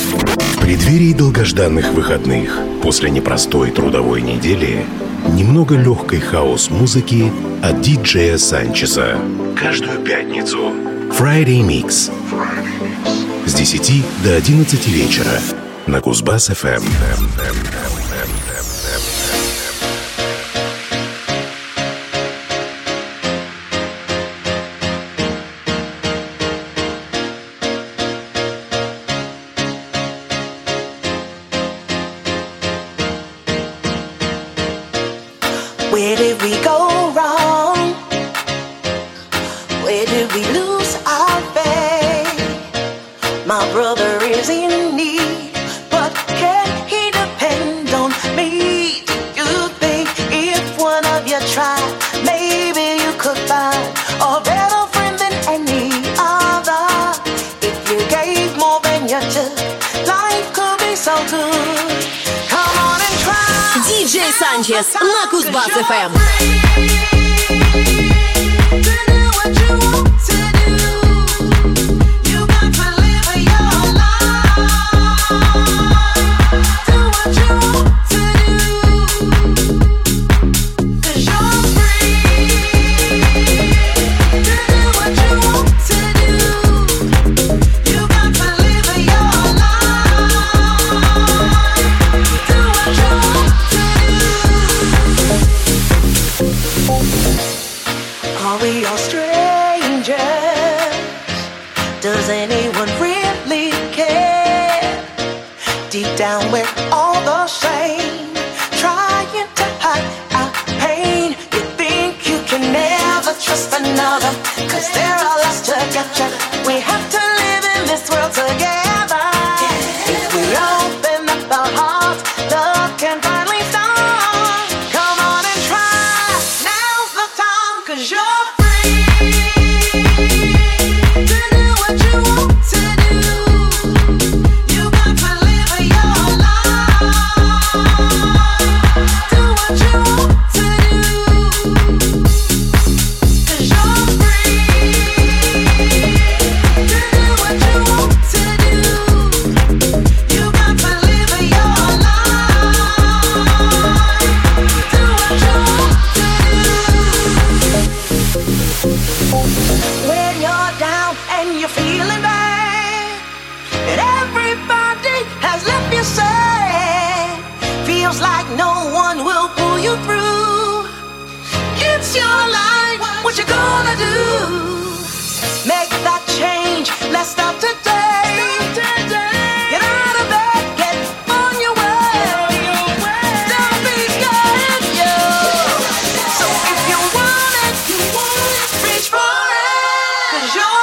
В преддверии долгожданных выходных, после непростой трудовой недели, немного легкой хаос-музыки от диджея Санчеса. Каждую пятницу Friday Mix с 10 до 11 вечера на Кузбасс-ФМ. Where did we go wrong? Where did we lose our faith? My brother is in need, but can he depend on me? Do you think if one of you tried, maybe you could find a better friend than any other? If you gave more than you took, life could be so good. Come on and try. DJ Санчес на Кузбасс-ФМ. Are we all strangers? Does anyone really care? Deep down we're all the same, trying to hide our pain. You think you can never trust another, 'cause they're all lost together. We have to live in this world together. If we open up our hearts, love can finally start. Come on and try, now's the time, 'cause you're like no one will pull you through. It's your life, what you gonna do? Make that change, let's start today. Get out of bed, get on your way. Don't be scared, yo. So if you want it, reach for it, 'cause you're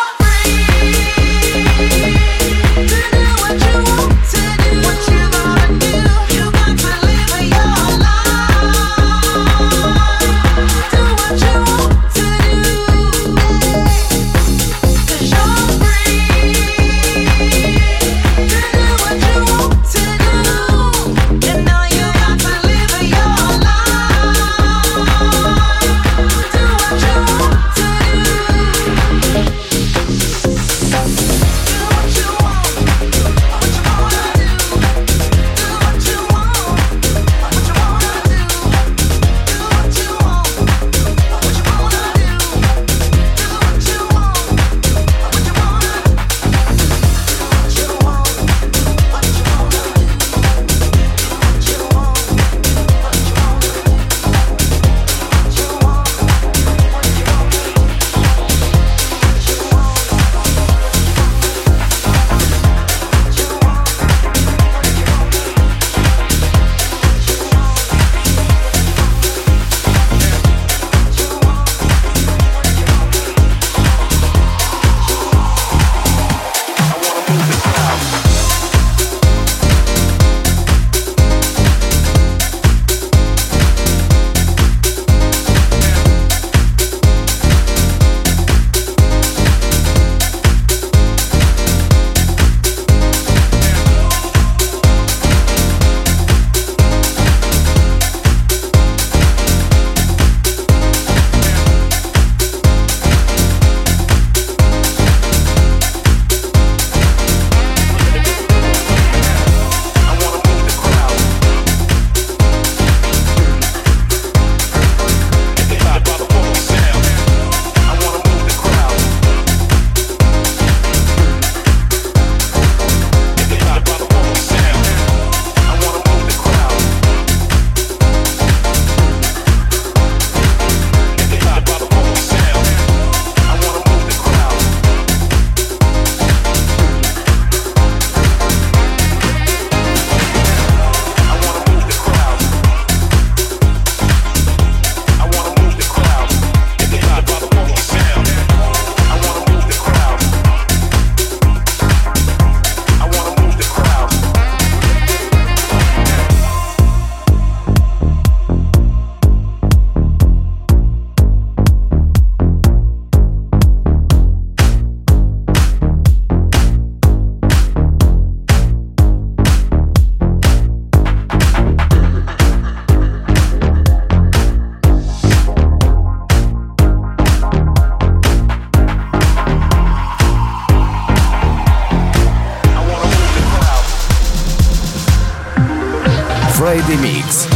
Friday Mix.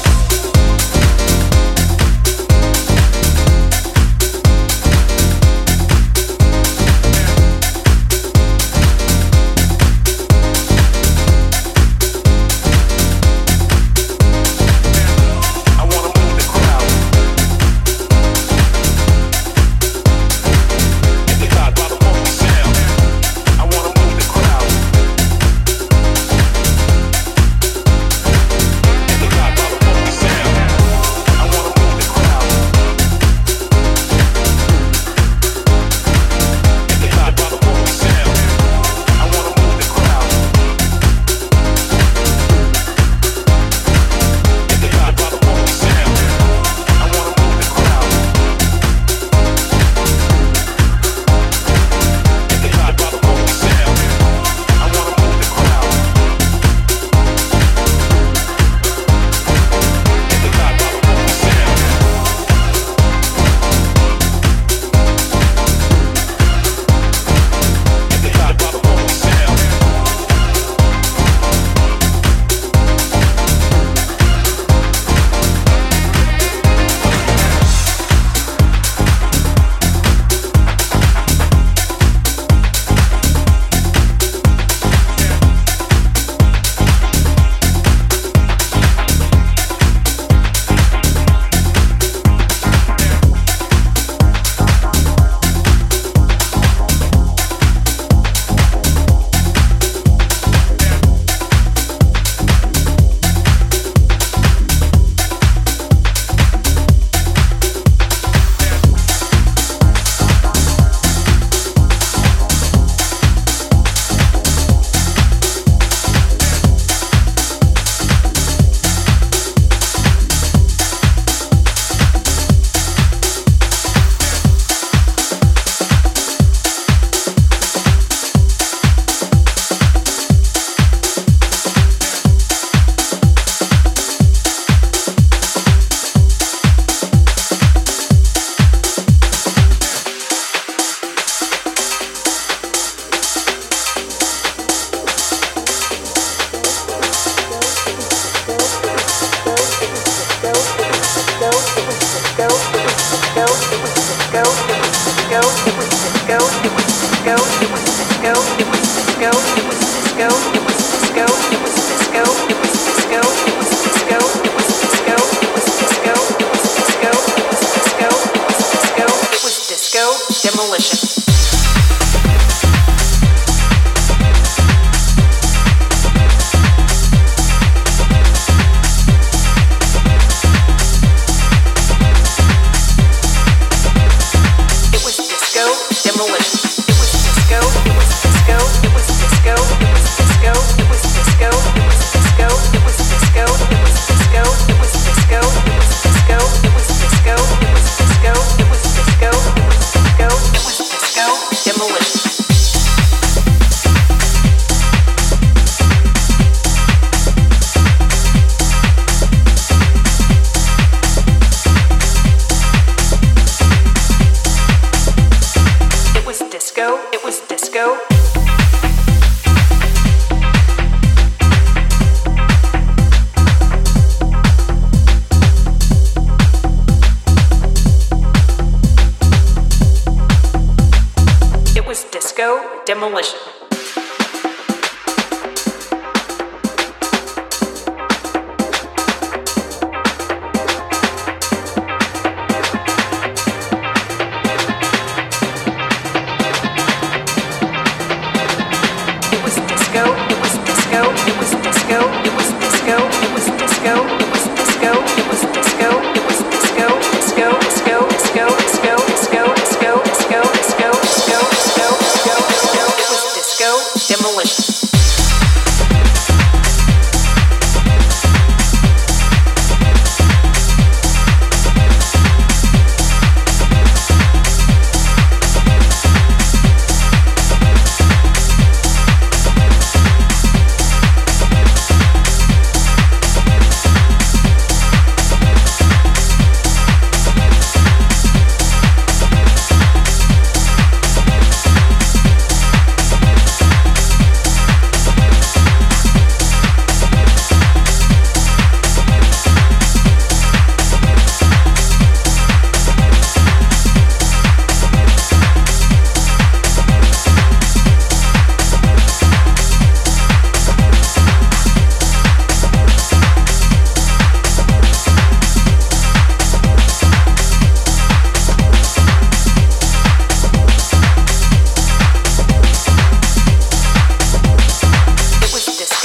Demolition.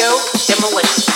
Disco Demolition.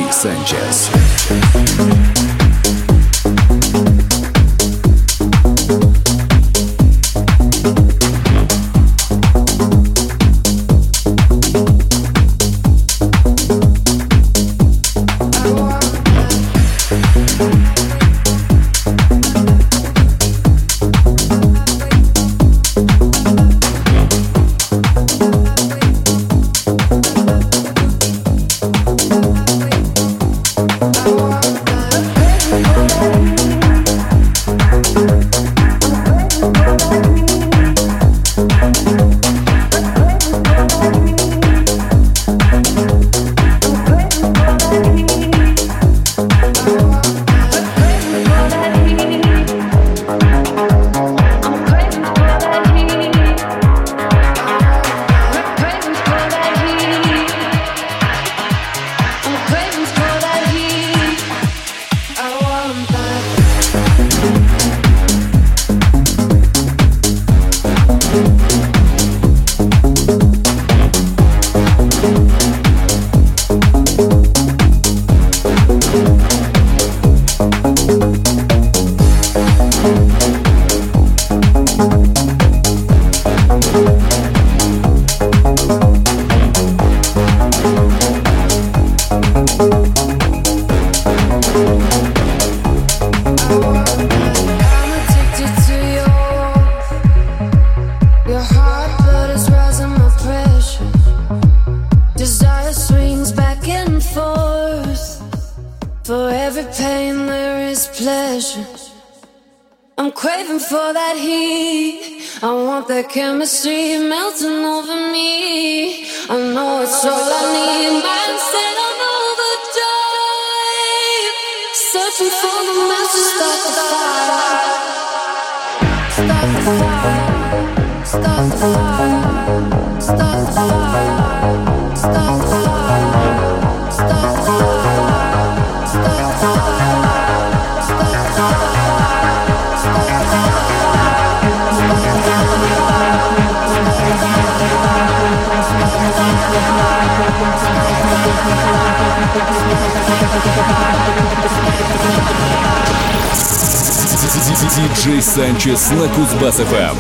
DJ Sanchez. Chemistry melting over me. I know it's all I need. Mindset on overdrive. Searching for the match to start the fire. Start the fire. Start the fire. Start the fire. Start the fire. Start the fire. Start the fire. Start the fire. DJ Sanchez на Кузбасс-ФМ.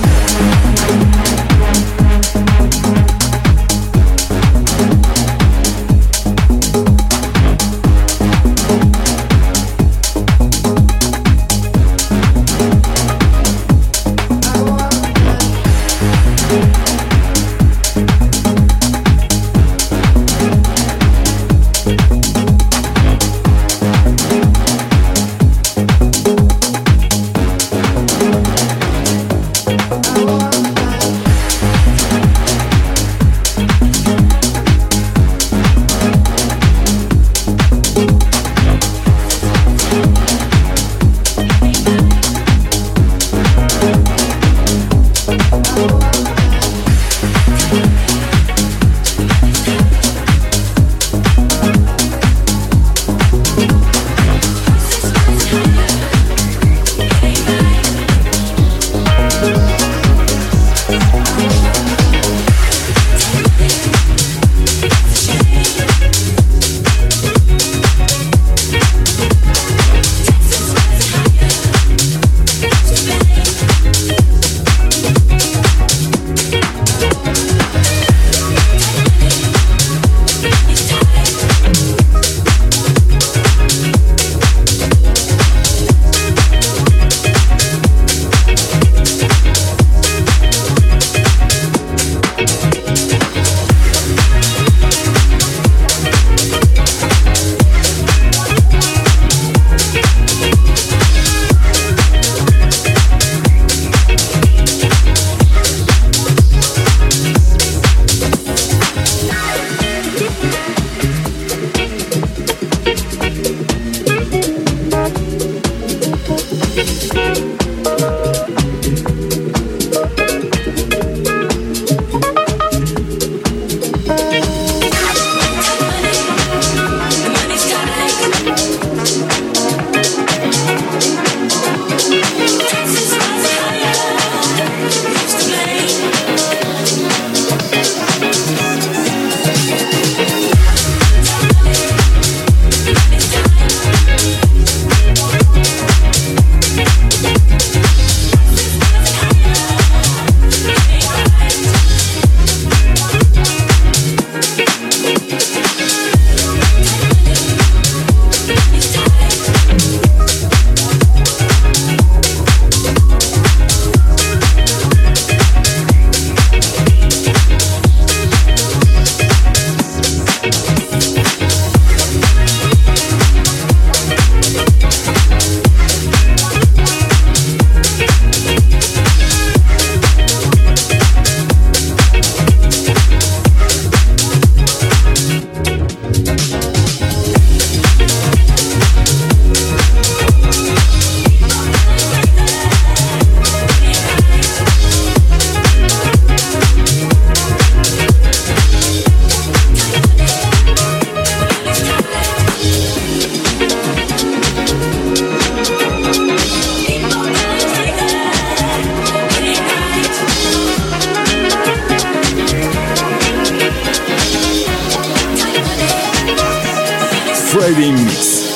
Friday Mix.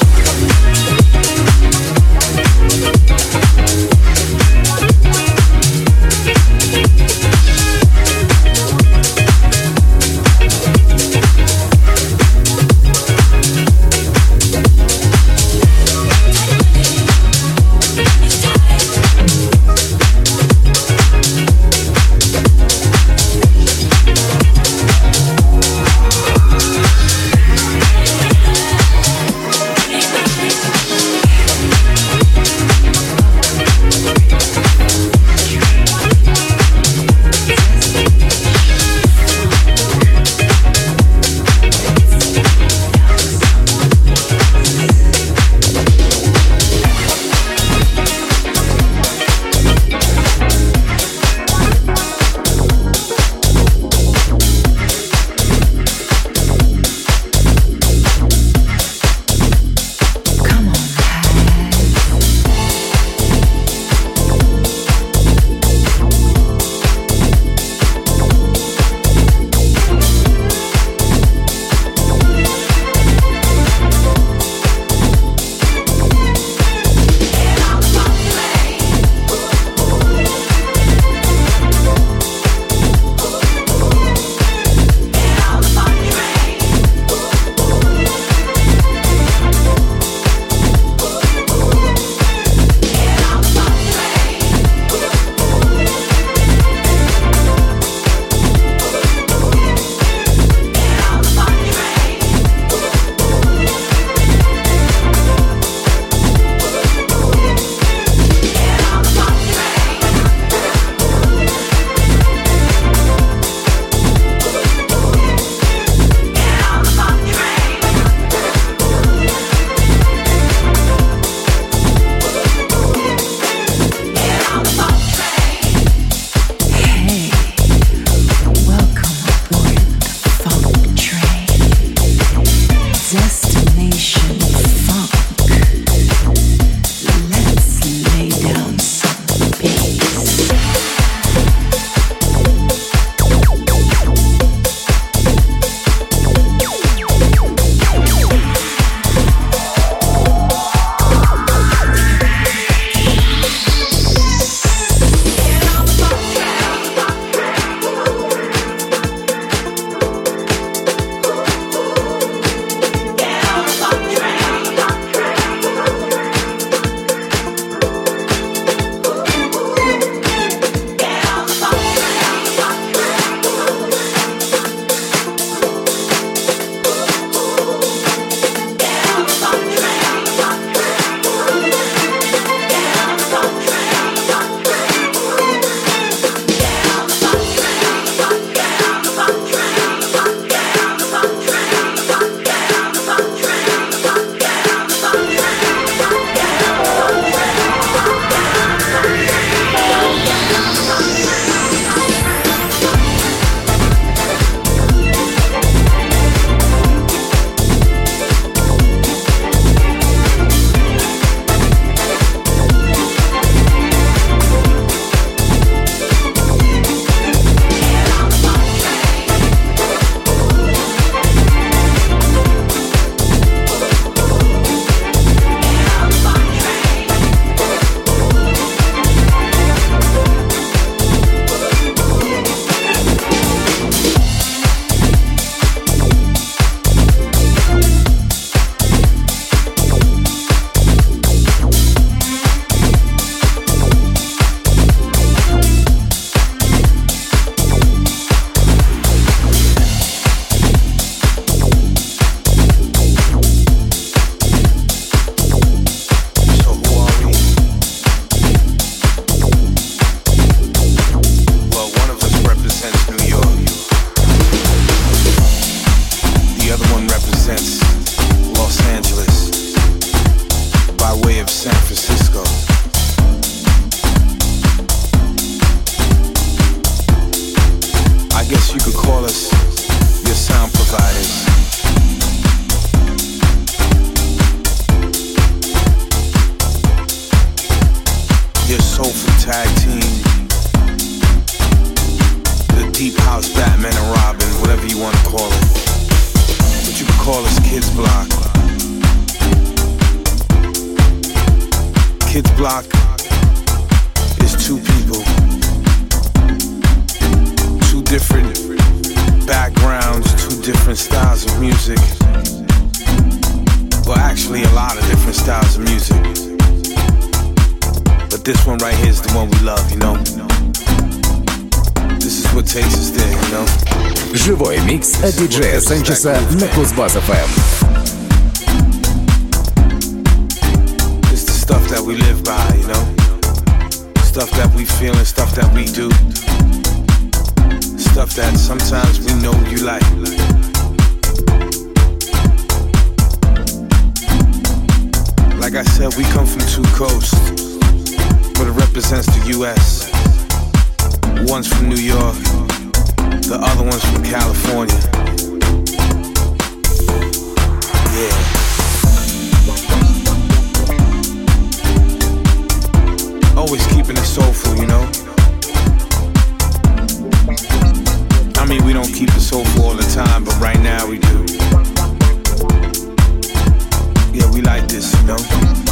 call us Kids Block. Kids Block is two people, two different backgrounds, two different styles of music. Well, actually a lot of different styles of music, but this one right here is the one we love, you know. This is what takes us there, you know. Живой микс от диджея Санчеса на Кузбасс-ФМ. It's the stuff that we live by, you know. Stuff that we feel and stuff that we do. Stuff that sometimes we know you like. Like I said, we come from two coasts, but it represents the U.S. One's from New York, the other one's from California. Yeah. Always keeping it soulful, you know. I mean, we don't keep it soulful all the time, but right now we do. Yeah, we like this, you know.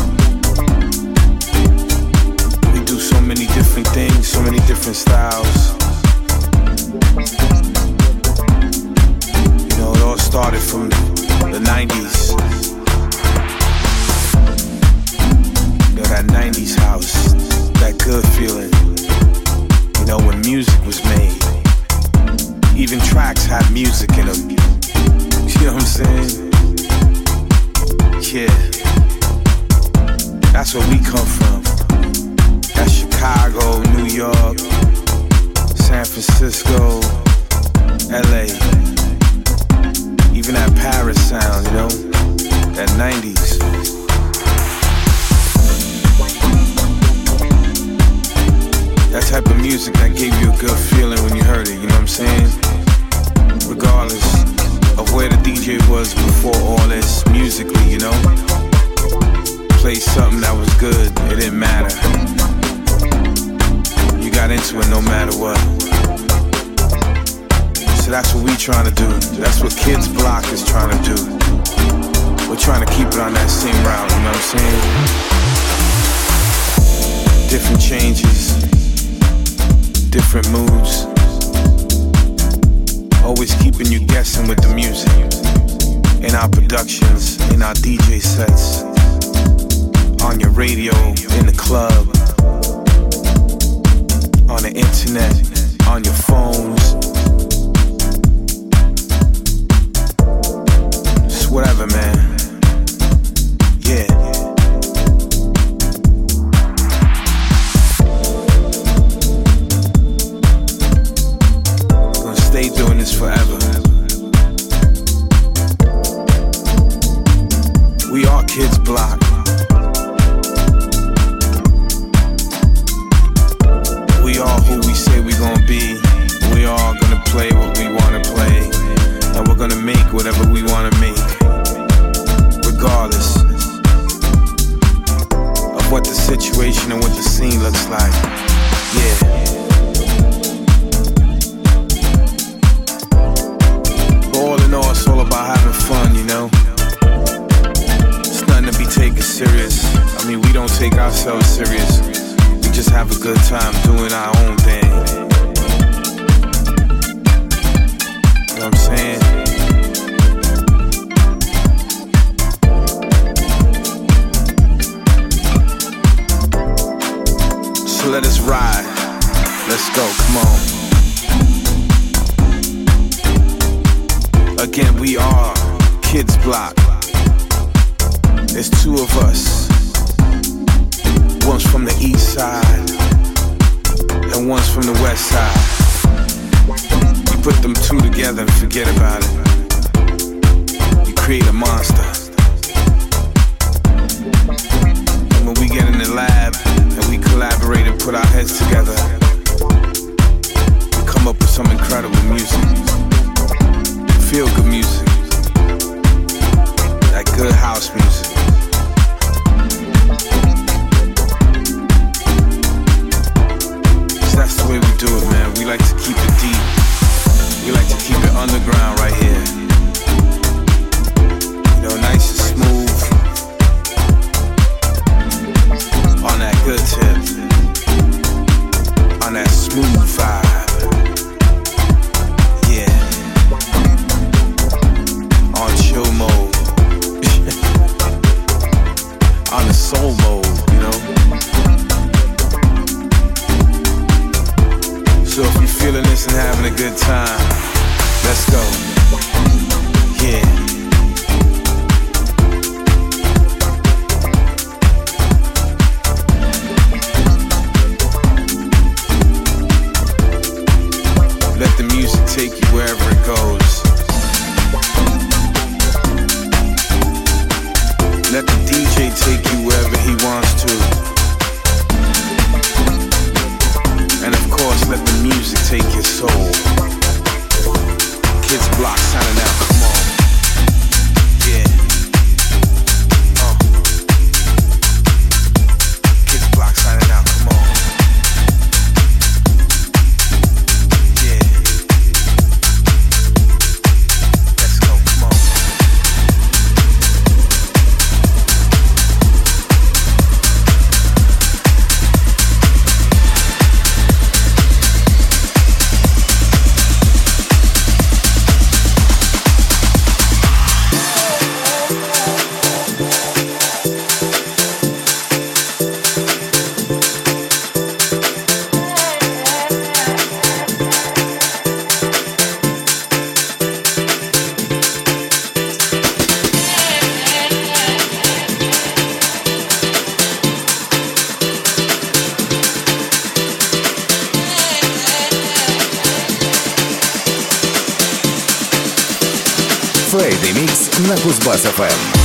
We do so many different things, so many different styles. You know, it all started from the 90s. You know, that 90s house, that good feeling. You know, when music was made. Even tracks had music in them. You know what I'm saying? Yeah, that's where we come from. That's Chicago, New York, San Francisco, LA. Even that Paris sound, you know, that 90s. That type of music that gave you a good feeling when you heard it, you know what I'm saying? Regardless of where the DJ was before all this, musically, you know. Play something that was good, it didn't matter. You got into it no matter what. So that's what we trying to do. That's what Kids Block is trying to do. We're trying to keep it on that same route, you know what I'm saying? Different changes, different moods. Always keeping you guessing with the music. In our productions, in our DJ sets, on your radio, in the club, on the internet, on your phones. Just whatever, man. Yeah. Gonna stay doing this forever. We are Kids Block. We are who we say we gonna be. We are gonna play what we wanna play. And we're gonna make whatever we wanna make. Regardless of what the situation and what the scene looks like. Yeah. But all in all, it's all about having fun, you know. To be taken serious. I mean, we don't take ourselves serious. We just have a good time doing our own thing. You know what I'm saying? So let us ride. Let's go, come on. Again, we are Kids Block. There's two of us. One's from the east side and one's from the west side. You put them two together and forget about it. You create a monster. And when we get in the lab and we collaborate and put our heads together, we come up with some incredible music. Feel good music. That good house music. That's the way we do it, man. We like to keep it deep. We like to keep it underground right here. You know, nice and smooth. On soul mode, you know? So if you're feeling this and having a good time, let's go. Yeah. Let the music take you wherever it goes. Let the DJ take you wherever he wants to. And of course, let the music take your soul. Kids Block signing out, come on. Yeah. Kids Block signing out, come on. Yeah. Let's go, come on. Friday Mix на Кузбасс-ФМ.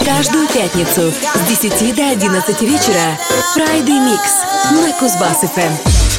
Каждую пятницу с 10 до 11 вечера Friday Mix на Кузбасс-ФМ.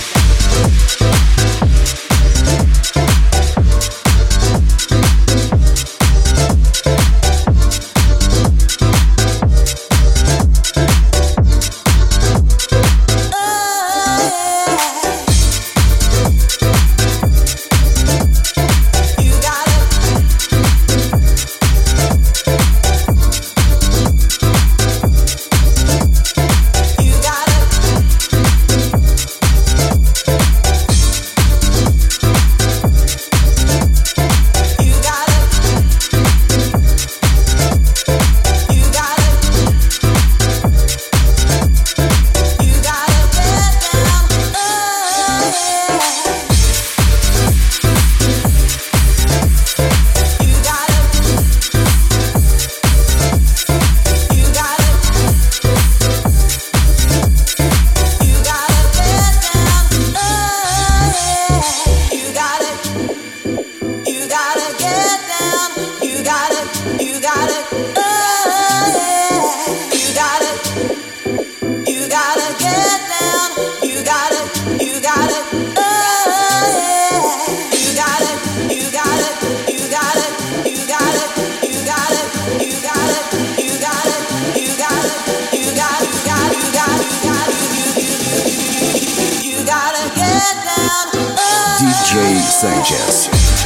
DJ Sanchez.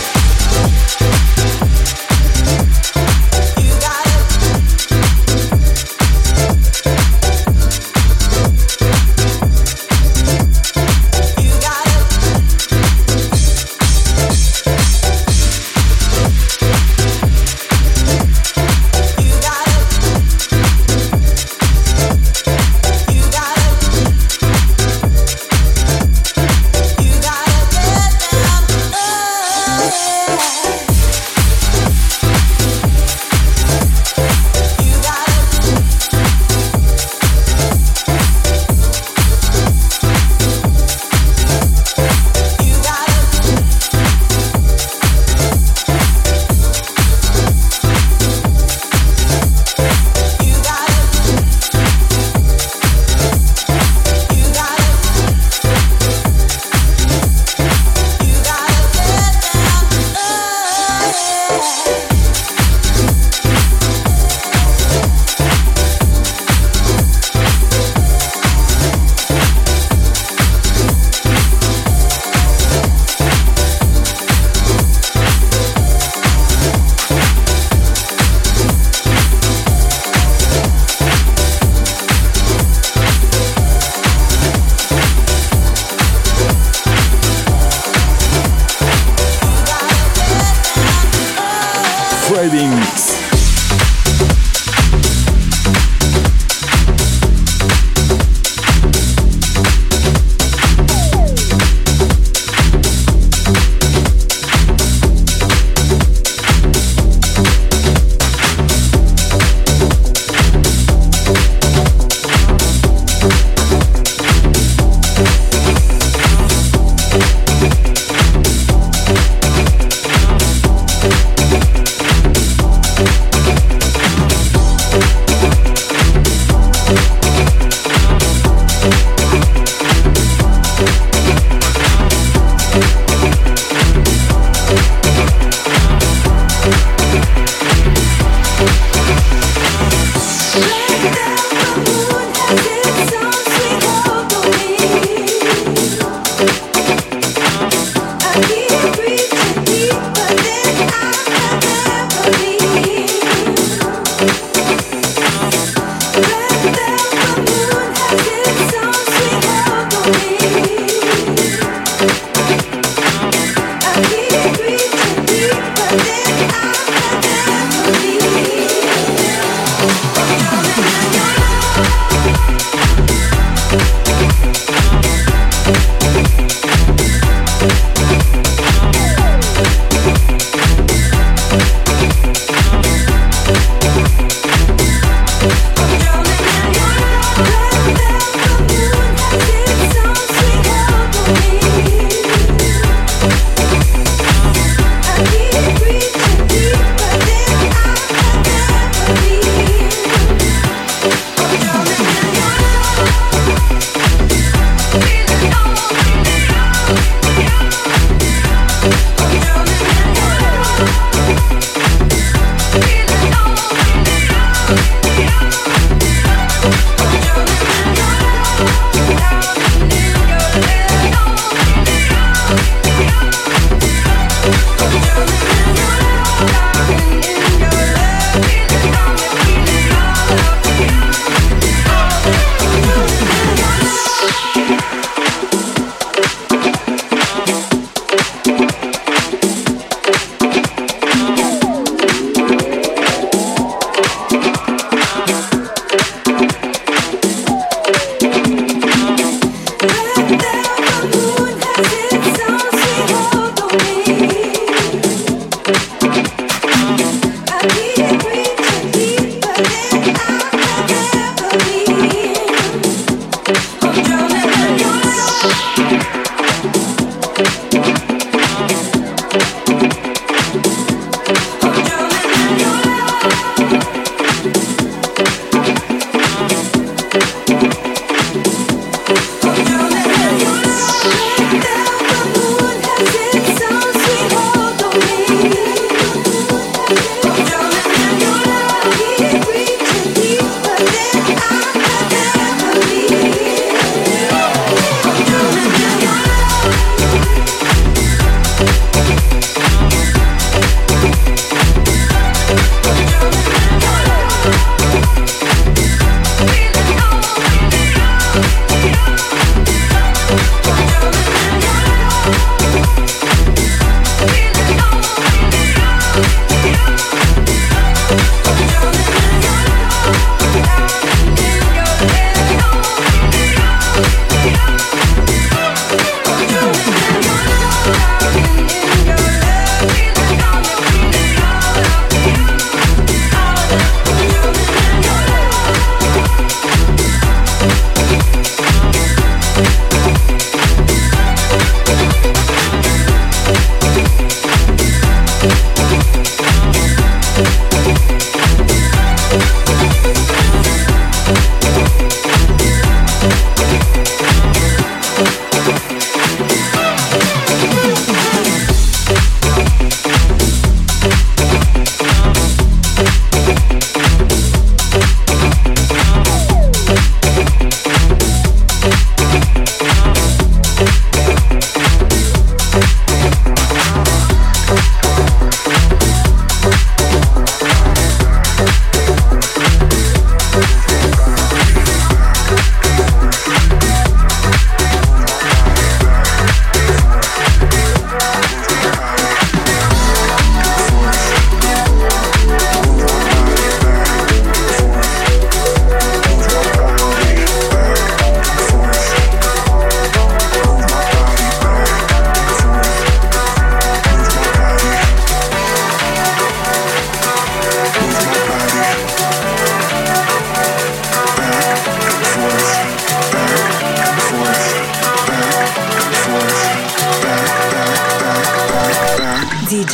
Friday Mix.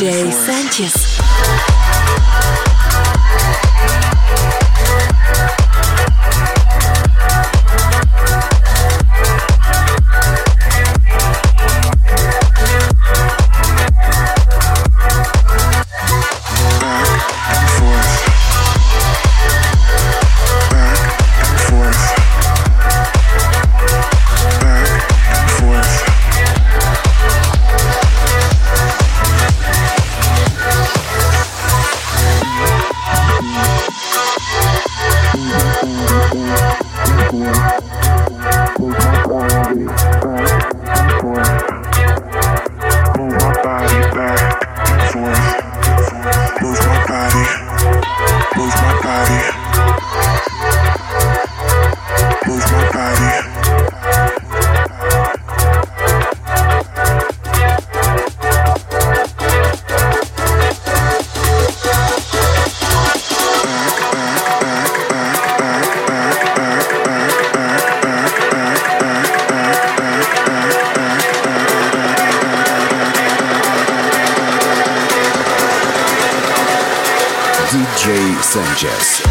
DJ Sanchez. DJ Sanchez.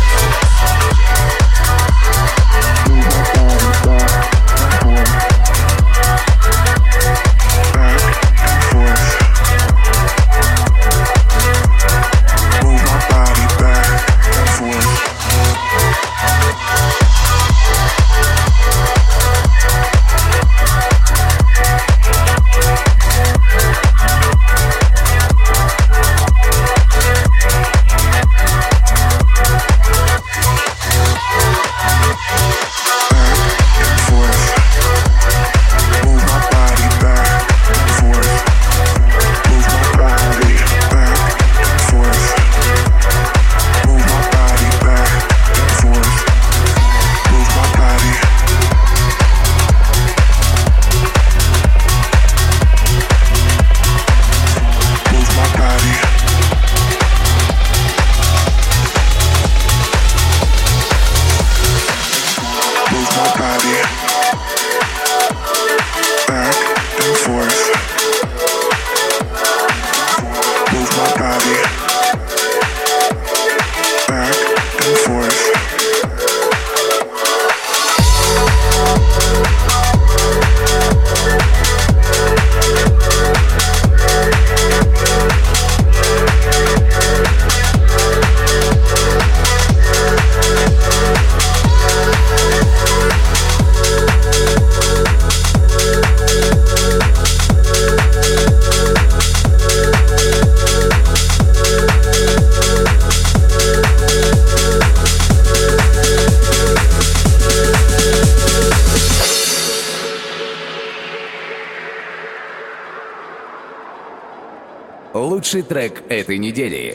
Лучший трек этой недели.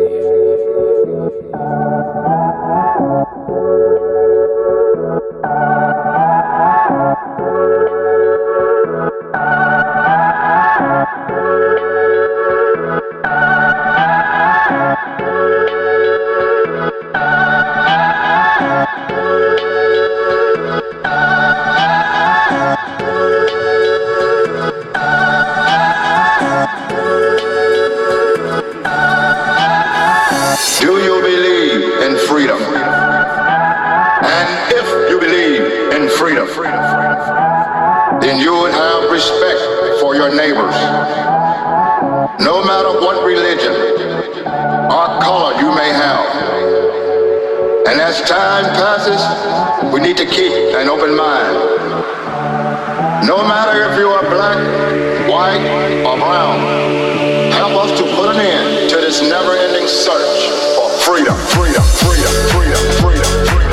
Do you believe in freedom? And if you believe in freedom, then you would have respect for your neighbors. No matter what religion or color you may have. And as time passes, we need to keep an open mind. No matter if you are black, white, or brown, help us to put an end to this never-ending search for freedom, freedom, freedom, freedom, freedom, freedom.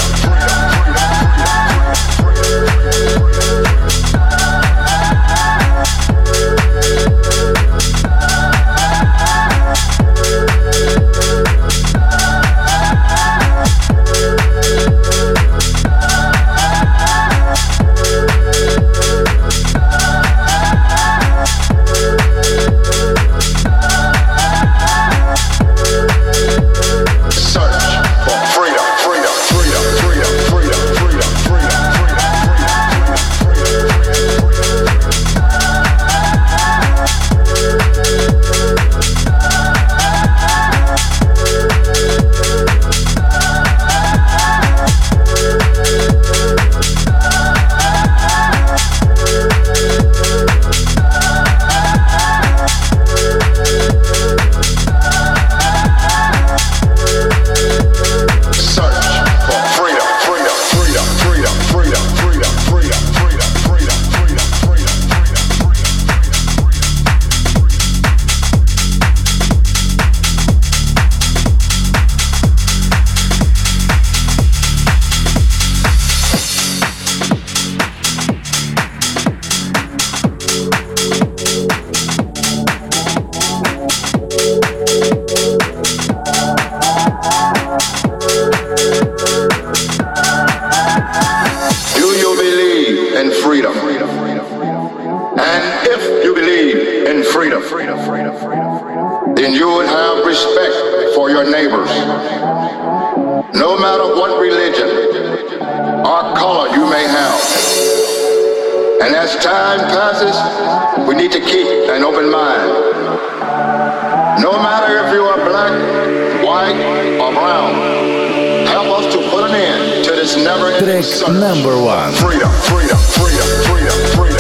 neighbors, no matter what religion or color you may have. And as time passes, we need to keep an open mind. No matter if you are black, white, or brown, help us to put an end to this never-ending search. Number one. Freedom, freedom, freedom, freedom, freedom.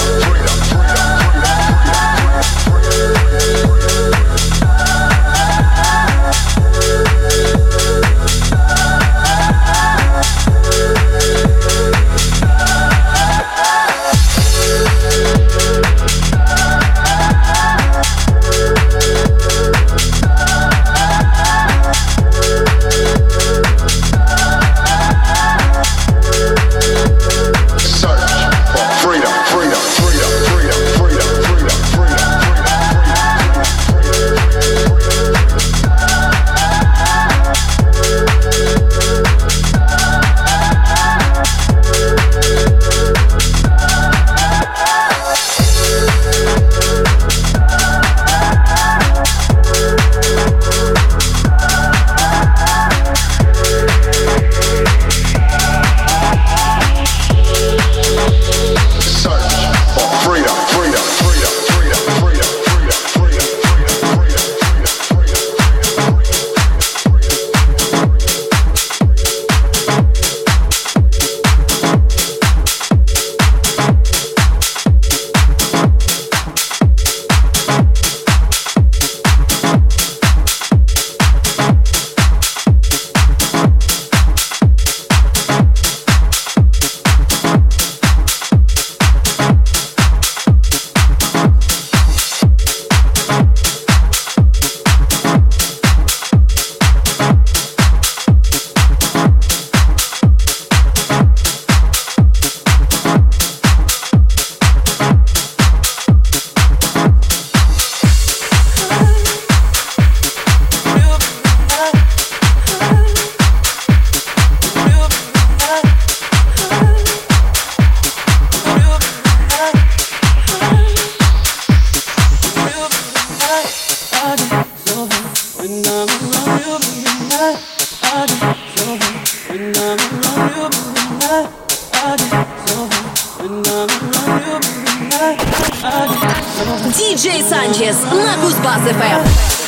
Диджей Санчес на Кузбасс-ФМ.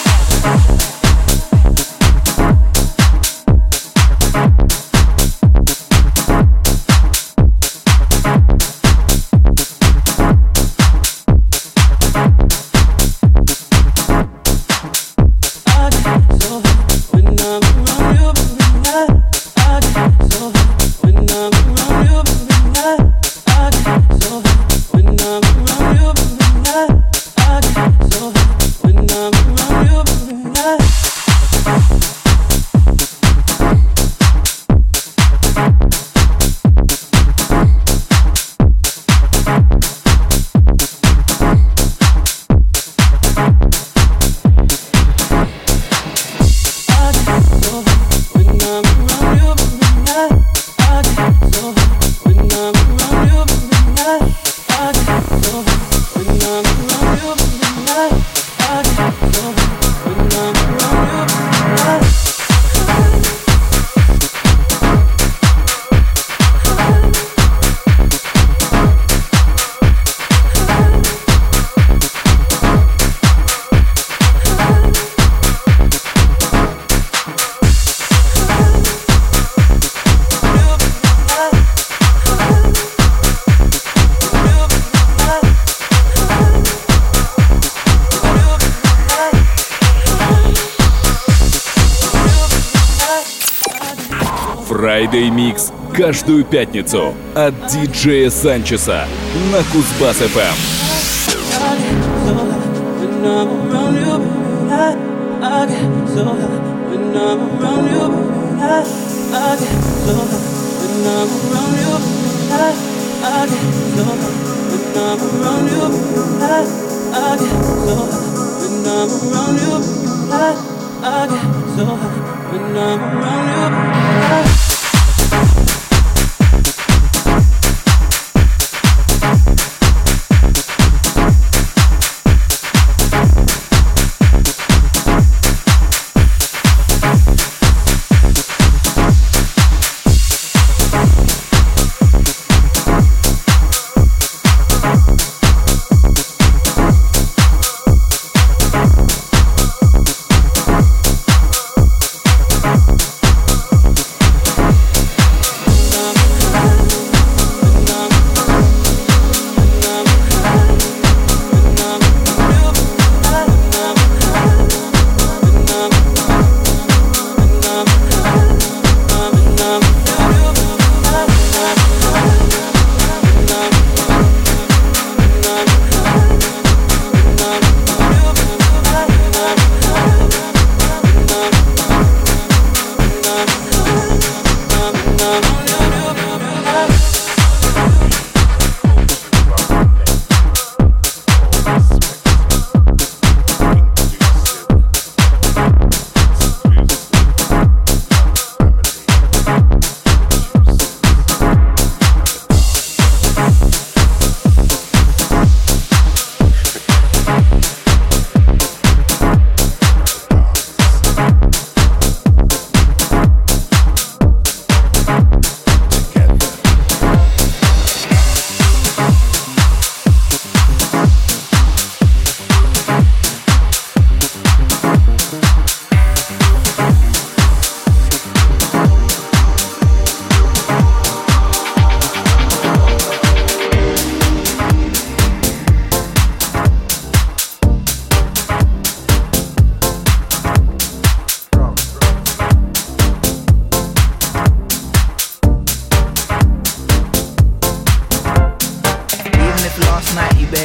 Friday Mix каждую пятницу от диджея Санчеса на Кузбасс-ФМ.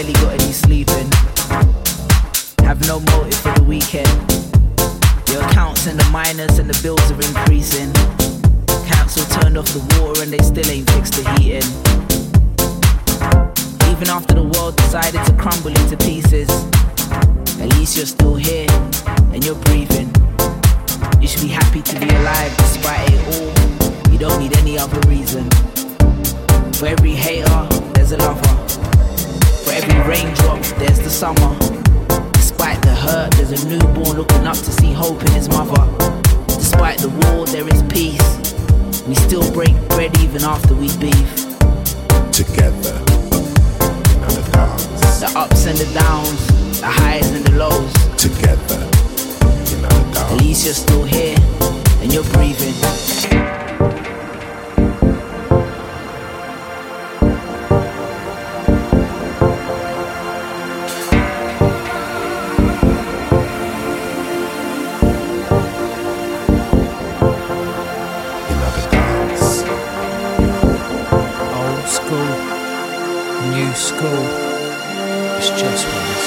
barely got any sleeping. Have no motive for the weekend. Your accounts in the minus and the bills are increasing. Council turned off the water and they still ain't fixed the heating. Even after the world decided to crumble into pieces, at least you're still here and you're breathing. You should be happy to be alive despite it all. You don't need any other reason. For every hater, there's a lover. For every raindrop, there's the summer. Despite the hurt, there's a newborn looking up to see hope in his mother. Despite the war, there is peace. We still break bread even after we beef. Together, in the dance. The ups and the downs, the highs and the lows. Together, in the dance. At least you're still here and you're breathing. New school, it's just once.